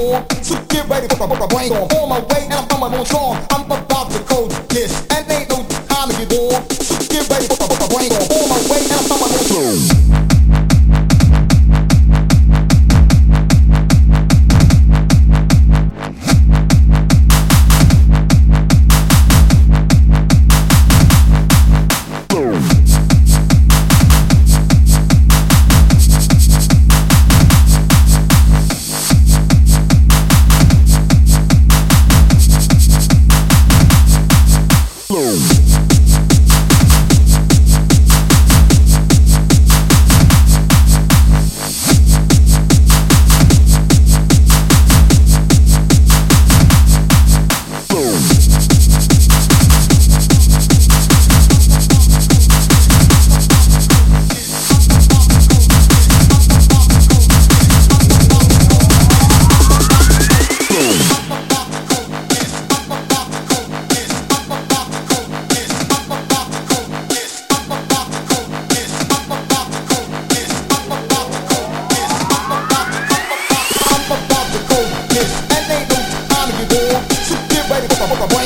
warm. So get ready for my brain on my way and I'm on my own song. I'm about to code this and ain't no time to get warm. So get ready for my brain on my way and I'm on my own song. What